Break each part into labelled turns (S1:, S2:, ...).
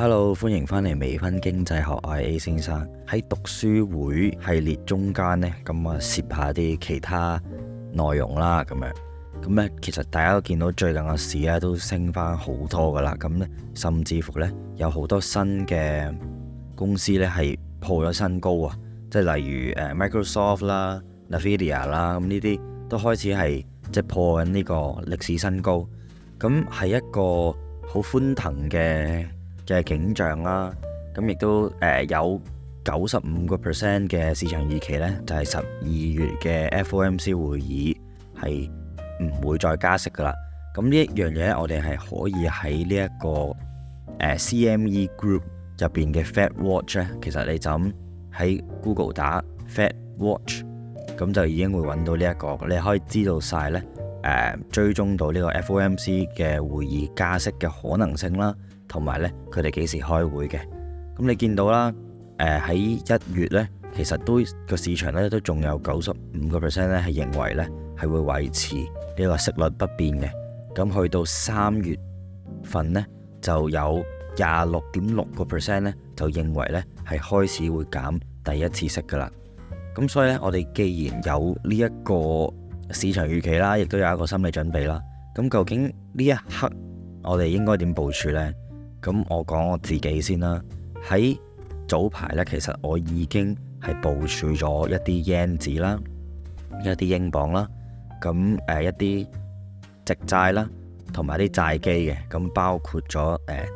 S1: Hello，歡迎返嚟微醺經濟學，我係 A 先生。喺讀書會系列中間呢，咁啊攝下啲其他內容啦，咁咧其實大家都見到最近嘅市咧都升翻好多噶啦，咁咧甚至乎呢，有好多新嘅公司呢係破咗新高啊，即係例如Microsoft 啦、Nvidia 啦，咁呢啲都開始係即係破緊呢個歷史新高，咁係一個好歡騰嘅景象啦。咁亦都有95% 嘅市場預期呢，就係12月嘅 FOMC 會議係唔會再加息噶啦。咁呢一樣嘢我哋係可以喺呢一個CME Group 入邊嘅 Fed Watch 咧，其實你就咁喺 Google 打 Fed Watch， 咁就已經會揾到呢一個，你可以知道晒呢，追蹤到呢個 FOMC 嘅會議加息嘅可能性啦，同埋呢佢哋幾時開會嘅。咁你見到啦，喺1月呢，其實都個市場呢都仲有95%呢係認為呢係會維持呢個息率不變嘅。咁去到3月份呢，就有26.6% 呢就認為呢係開始會減第一次息噶啦。咁所以呢，我哋既然有呢一個市場預期啦，亦都有一個心理準備啦。咁究竟呢一刻我哋應該點部署呢？咁我講我自己先啦。喺早排呢，其實我已經係部署咗一啲 yen 紙啦，一啲英鎊啦，咁一啲直債啦，同埋啲債基嘅。咁包括咗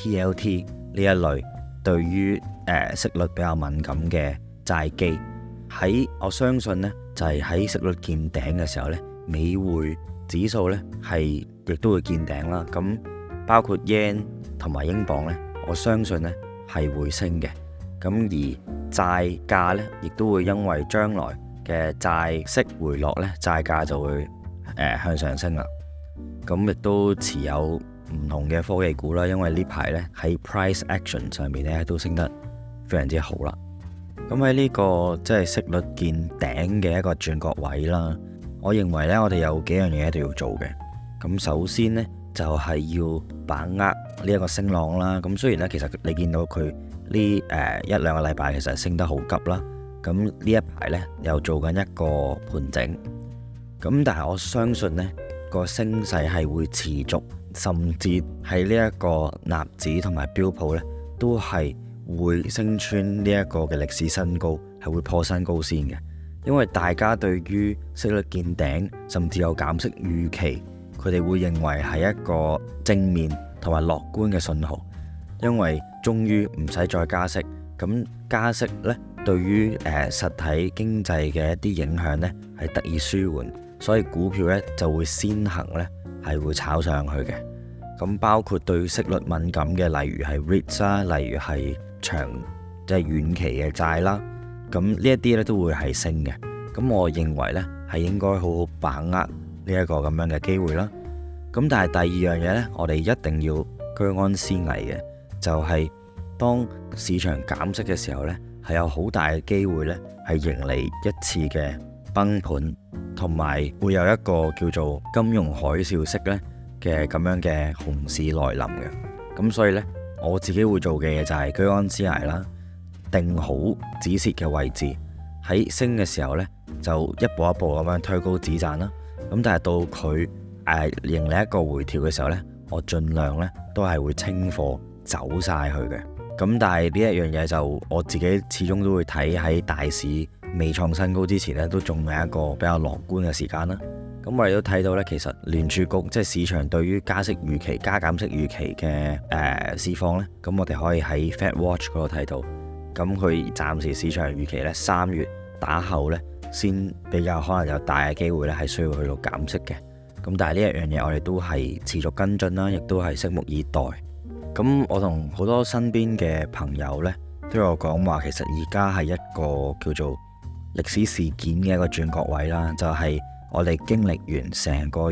S1: TLT 呢一類對於息率比較敏感嘅債基。喺我相信呢，就係喺息率見頂嘅時候呢，美匯指數呢係亦都會見頂啦。咁包括 yen 同埋英鎊呢，我相信呢係會升嘅。咁而債價呢，亦都會因為將來嘅債息回落呢，債價就會向上升啦。咁亦都持有唔同嘅科技股啦，因為呢排呢喺 price action 上面呢都升得非常之好啦。咁喺呢個即係息率見頂嘅一個轉角位啦，我認為呢，我哋有幾樣嘢一定要做嘅。咁首先呢，就係要把握呢一個升浪啦。咁雖然呢，其實你見到佢呢一兩個禮拜其實升得好急啦。咁呢一排呢，又做緊一個盤整。咁但係我相信呢個升勢係會持續，甚至係呢一個納指同埋標普呢，都係會升穿呢一個嘅歷史新高，係會破新高先嘅。因為大家對於息率見頂，甚至有減息預期，佢哋會認為係一個正面同埋樂觀嘅信號，因為終於唔使再加息。咁加息呢，對於實體經濟嘅一啲影響呢，係得以舒緩，所以股票呢就會先行呢係會炒上去嘅。咁包括對息率敏感嘅，例如係 REITs 啦，例如係長即係遠期嘅債啦，咁呢一啲呢都會係升嘅。咁我認為呢係應該好好把握呢一個咁樣嘅機會啦。咁但係第二樣嘢呢，我哋一定要居安思危嘅，就係當市場減息嘅時候呢，係有好大嘅機會呢係迎嚟一次嘅崩盤，同埋會有一個叫做金融海嘯式呢嘅咁樣嘅熊市來臨嘅。咁所以呢，我自己會做嘅嘢就係居安思危啦，定好止蝕嘅位置，喺升嘅時候呢，就一步一步咁樣推高止賺啦。咁但係到佢迎嚟一個回調嘅時候呢，我盡量呢都係會清貨走晒去嘅。咁但係呢一樣嘢就我自己始終都會睇喺大市未創新高之前呢，都仲有一個比較樂觀嘅時間啦。咁我哋都睇到呢，其實聯儲局即係市場對於加息預期、加減息預期嘅市況呢，咁我哋可以喺 Fed Watch 嗰度睇到。咁佢暫時市場預期呢，3月打後呢，先比較可能有大嘅機會呢係需要去到減息嘅。咁但係呢一樣嘢我哋都係持續跟進啦，亦都係拭目以待。咁我同好多身邊嘅朋友呢，都有講話，其實而家係一個叫做歷史事件嘅一個轉角位啦，就係我哋經歷完成個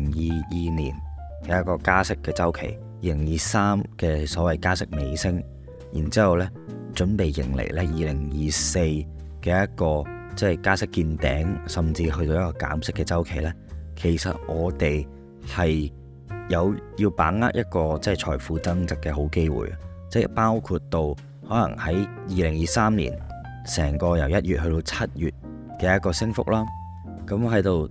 S1: 2022年嘅一個加息嘅週期，2023嘅所謂加息尾聲，然之後呢準備迎嚟呢2024嘅一個即係加息見頂，甚至去到一個減息嘅週期呢。其實我哋係有要把握一個即係財富增值嘅好機會， 即係包括到可能喺2023年成個由1月去到7月嘅一個升幅啦。咁喺度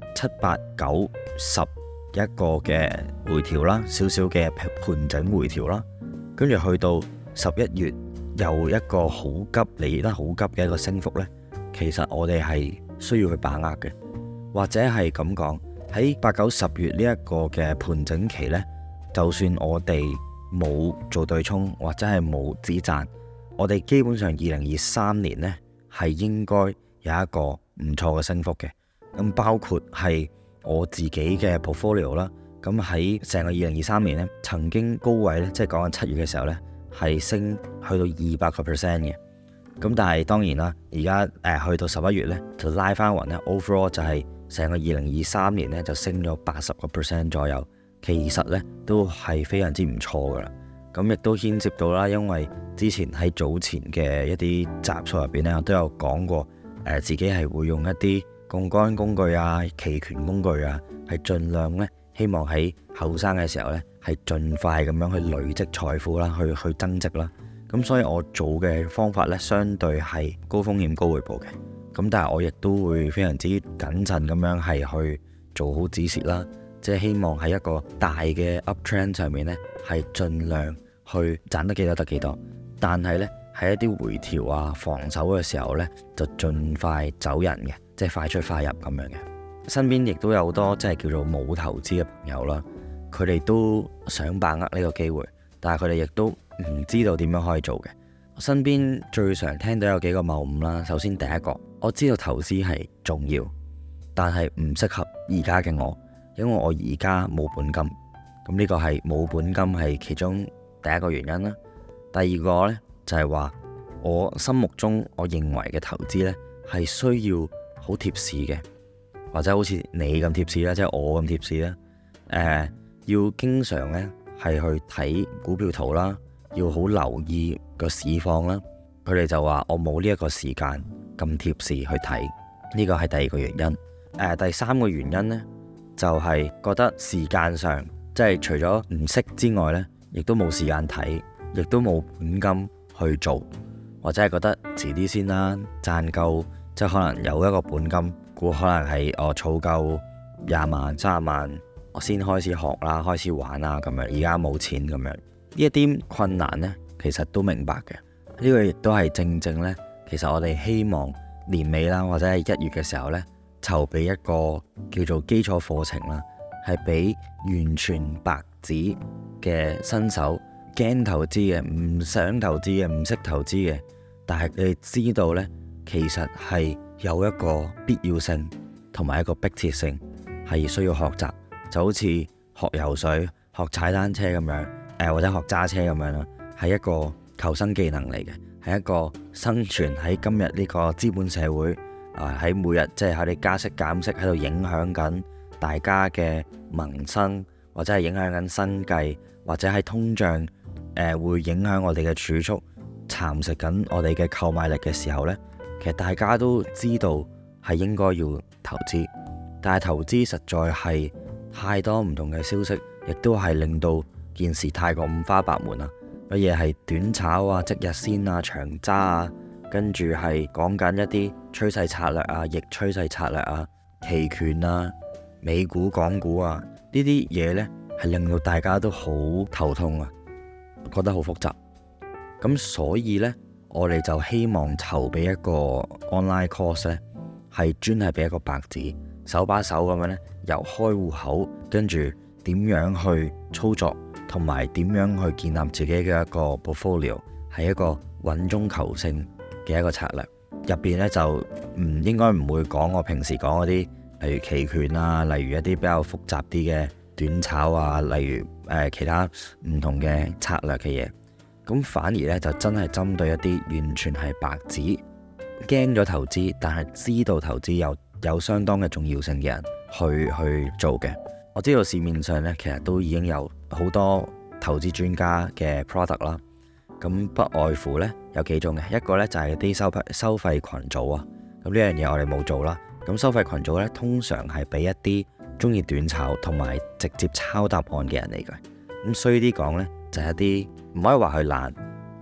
S1: 7、8、9、10一個嘅回調啦，少少嘅盤整回調啦，跟住去到11月又一個好急嚟得好急嘅一個升幅呢。其實我哋係需要去把握嘅，或者係咁講，喺8、9、10月呢一個嘅盤整期呢，就算我哋冇做對沖或者係冇止賺，我哋基本上2023年呢係應該有一個唔錯嘅升幅嘅。咁包括係我自己嘅 portfolio 啦，咁喺成個2023年呢，曾經高位呢，即係講緊7月嘅時候呢，係升去到200% 嘅。咁但係當然啦，而家去到11月呢，就拉翻勻呢 overall 就係成個2023年呢，就升咗80% 左右，其實呢都係非常之唔錯噶啦。咁亦都牽涉到啦，因為之前喺早前嘅一啲集數入邊呢，我都有講過，自己係會用一啲槓桿工具啊、期權工具啊，係盡量呢，希望喺後生嘅時候呢，係盡快咁樣去累積財富啦，去增值啦。咁所以我做嘅方法呢，相對係高風險高回報嘅。咁但係我亦都會非常之謹慎咁樣係去做好止蝕啦，即係希望喺一個大嘅 uptrend 上面呢，係盡量去賺得幾多得幾多。但係呢，喺一啲回調啊、防守嘅時候呢，就盡快走人嘅。即係快出快入咁樣嘅，身邊亦都有好多即係叫做冇投資嘅朋友啦，佢哋都想把握呢個機會，但係佢哋亦都唔知道點樣可以做嘅。身邊最常聽到有幾個謬誤啦。首先第一個，我知道投資係重要，但係唔適合而家嘅我，因為我而家冇本金。咁呢個係冇本金係其中第一個原因啦。第二個呢，就係話，我心目中我認為嘅投資呢，係需要好貼市嘅，或者好似你咁貼市啦，即係我咁貼市啦。要經常呢係去睇股票圖啦，要好留意個市況啦。佢哋就話我冇呢一個時間咁貼市去睇，呢個係第二個原因。第三個原因呢，就係覺得時間上即係除咗唔識之外呢，亦都冇時間睇，亦都冇本金去做，或者係覺得遲啲先啦，賺夠。即係可能有一個本金，估可能係我儲夠20萬、30萬，我先開始學啦，開始玩啦咁樣。而家冇錢咁樣，呢一啲困難呢，其實都明白嘅。呢個亦都係正正呢，其實我哋希望年尾啦，或者係1月嘅時候呢，籌備一個叫做基礎課程啦，係俾完全白紙嘅新手，驚投資嘅、唔想投資嘅、唔識投資嘅，但係你哋知道呢，其實係有一個必要性同埋一個迫切性，係需要學習，就好似學游水、學踩單車咁樣，或者學揸車咁樣啦，係一個求生技能嚟嘅，係一個生存喺今日呢個資本社會喺每日即係喺你加息減息喺度影響緊大家嘅民生，或者係影響緊生計，或者係通脹會影響我哋嘅儲蓄，蠶食緊我哋嘅購買力嘅時候呢。其實大家都知道係應該要投資，但係投資實在係太多唔同嘅消息，亦都係令到件事太過五花八門啦。乜嘢係短炒啊、即日先啊、長揸啊，跟住係講緊一啲趨勢策略啊、逆趨勢策略啊、期權啊、美股、港股啊，呢啲嘢呢係令到大家都好頭痛啊，覺得好複雜。咁所以呢，我哋就希望籌備一個 online course 呢，係專係俾一個白紙，手把手咁樣呢，由開戶口，跟住點樣去操作，同埋點樣去建立自己嘅一個 portfolio， 係一個穩中求勝嘅一個策略。入邊呢，就應該唔會講我平時講嗰啲，例如期權啊，例如一啲比較複雜啲嘅短炒啊，例如其他唔同嘅策略嘅嘢。咁反而咧就真係針對一啲完全係白紙，驚咗投資，但係知道投資有相當嘅重要性嘅人去做嘅。我知道市面上咧其實都已經有好多投資專家嘅 product 啦，咁不外乎咧有幾種嘅，一個咧就係啲收費群組啊，咁呢樣嘢我哋冇做啦。咁收費群組咧通常係俾一啲中意短炒同埋直接抄答案嘅人嚟嘅。咁衰啲講咧就係一啲唔可以話佢懶，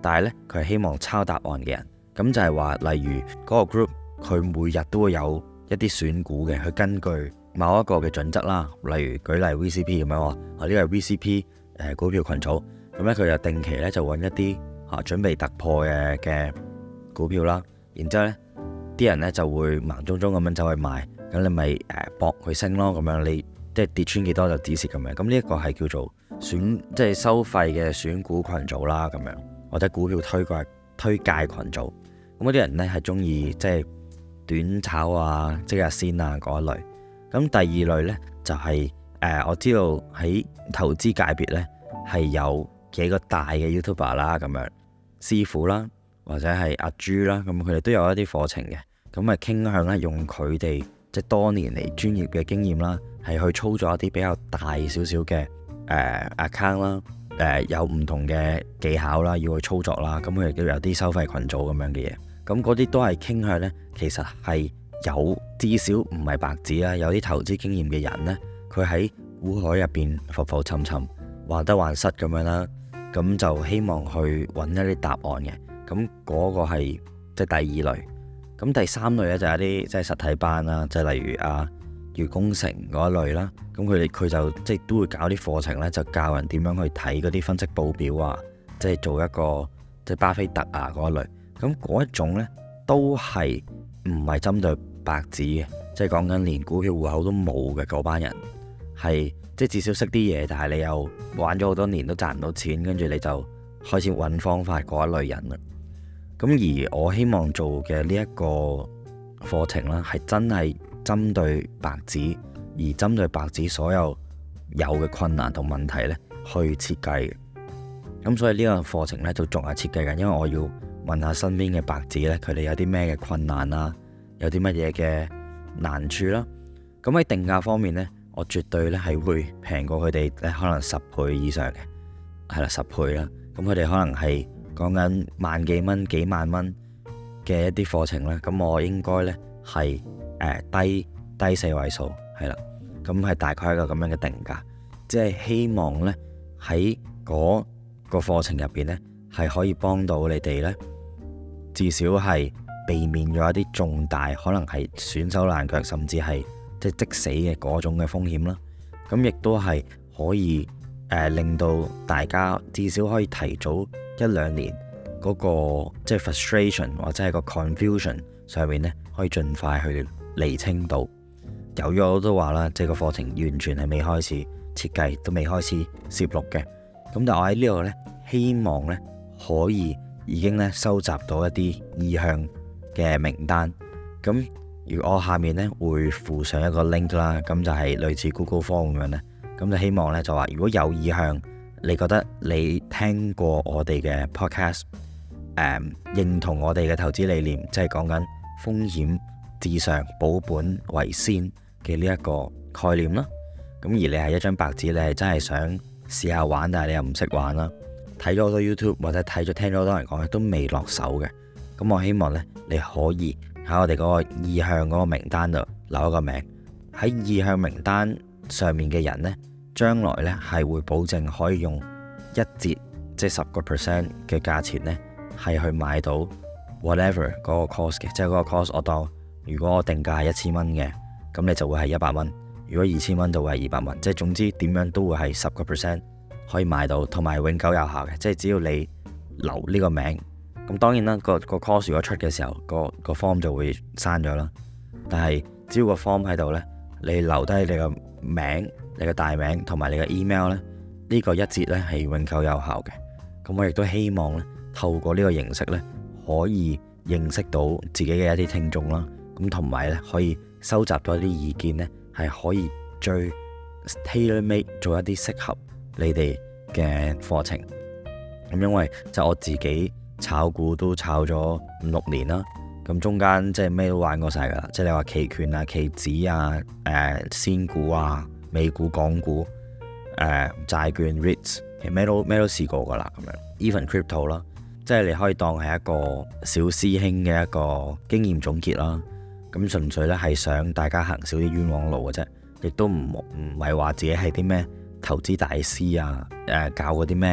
S1: 但係呢，佢係希望抄答案嘅人。咁就係話，例如嗰個 group 佢每日都會有一啲選股嘅，去根據某一個嘅準則啦。例如舉例 VCP 咁樣話，呢個係 VCP 股票群組，咁咧佢就定期咧就揾一啲準備突破嘅股票啦。然之後呢啲人呢就會盲中中咁樣走去買，咁你咪搏佢升咯。咁樣你即係跌穿幾多就止蝕咁樣。咁呢一個係叫做即係收費嘅選股群組啦，咁樣或者股票推介群組。咁嗰啲人呢係中意即係短炒啊、即日先啊嗰一類。咁第二類呢，就係我知道喺投資界別呢係有幾個大嘅 YouTuber 啦，咁樣師傅啦，或者係阿朱啦，咁佢哋都有一啲課程嘅。咁啊傾向咧用佢哋即係多年嚟專業嘅經驗啦，係去操作一啲比較大少少嘅account 啦，有唔同嘅技巧啦，要去操作啦。咁佢哋都有啲收費群組咁樣嘅嘢。咁嗰啲都係傾向呢，其實係有至少唔係白紙啦，有啲投資經驗嘅人呢，佢喺股海入邊浮浮沉沉、患得患失咁樣啦。咁就希望去揾一啲答案嘅。咁嗰個係即係第二類。咁第三類呢，就係一啲即係實體班啦，即係例如月工程嗰一類啦。咁佢就即係都會搞啲課程呢，就教人點樣去睇嗰啲分析報表啊，即係做一個即係巴菲特啊嗰一類。咁嗰一種呢，都係唔係針對白紙嘅，即係講緊連股票戶口都冇嘅嗰班人，係即係至少識啲嘢，但係你又玩咗好多年都賺唔到錢，跟住你就開始揾方法嗰一類人啦。咁而我希望做嘅呢一個課程啦，係真係針對白紙，而針對白紙所有嘅困難同問題呢去設計嘅。咁所以呢個課程呢，就仲係設計緊，因為我要問下身邊嘅白紙呢，佢哋有啲咩嘅困難啦，有啲乜嘢嘅難處啦。咁喺定價方面呢，我絕對呢係會平過佢哋可能10倍以上嘅，係啦10倍啦。咁佢哋可能係講緊萬幾蚊、幾萬蚊嘅一啲課程啦。咁我應該呢係低4位數，係啦。咁係大概一個咁樣嘅定價，即係希望呢喺嗰個課程入邊呢，係可以幫到你哋呢，至少係避免咗一啲重大可能係損手爛腳，甚至係即死嘅嗰種嘅風險啦。咁亦都係可以令到大家至少可以提早1-2年嗰個即係 frustration 或者係個 confusion 上面呢，可以盡快去釐清到。由於我都話啦，即係個課程完全係未開始設計，都未開始攝錄嘅。咁但係我喺呢度呢，希望呢可以已經呢收集到一啲意向嘅名單。咁如果我下面呢會附上一個 link 啦，咁就係類似 Google Form 咁樣呢。咁就希望呢就話，如果有意向，你覺得你聽過我哋嘅 podcast，認同我哋嘅投資理念，即係講緊風險至上、保本為先嘅呢一個概念啦。咁而你係一張白紙，你係真係想試下玩，但係你又唔識玩啦，睇咗好多 YouTube 或者聽咗好多人講，都未落手嘅。咁我希望呢，你可以喺我哋嗰個意向嗰個名單度留一個名。喺意向名單上面嘅人呢，將來呢係會保證可以用1折，即係10% 嘅價錢呢，係去買到 whatever 嗰個 course 嘅。即係嗰個 course 我當如果我定價係1000蚊嘅，咁你就會係100蚊。如果2000蚊就會係200蚊。即係總之點樣都會係10% 可以買到，同埋永久有效嘅。即係只要你留呢個名。咁當然啦，個 course 如果出嘅時候，個 form 就會刪咗啦。但係只要個 form 喺度呢，你留低你個名、你個大名同埋你嘅 email 呢，呢個1折呢係永久有效嘅。咁我亦都希望呢，透過呢個形式呢，可以認識到自己嘅一啲聽眾啦。咁同埋呢，可以收集到一啲意見呢，係可以最 tailor-made 做一啲適合你哋嘅課程。咁因為就我自己炒股都炒咗5-6年啦，咁中間即係咩都玩過晒噶啦，即係你話期權啊、期指啊、仙股啊、美股、港股、債券、REITs， 其實咩都試過噶啦，咁樣 even crypto 啦，即係你可以當係一個小師兄嘅一個經驗總結啦。咁純粹咧係想大家行少啲冤枉路嘅啫，亦都唔係話自己係啲咩投資大師啊，教嗰啲咩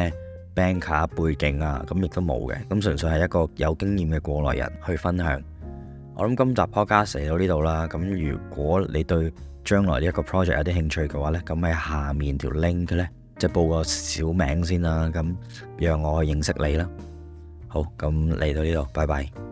S1: banker 背景啊，咁亦都冇嘅，咁純粹係一個有經驗嘅過來人去分享。我諗今集 podcast 嚟到呢度啦，咁如果你對將來呢一個 project 有啲興趣嘅話呢，咁喺下面條 link 呢，即係報個小名先啦，咁讓我認識你啦。好，咁嚟到呢度，拜拜。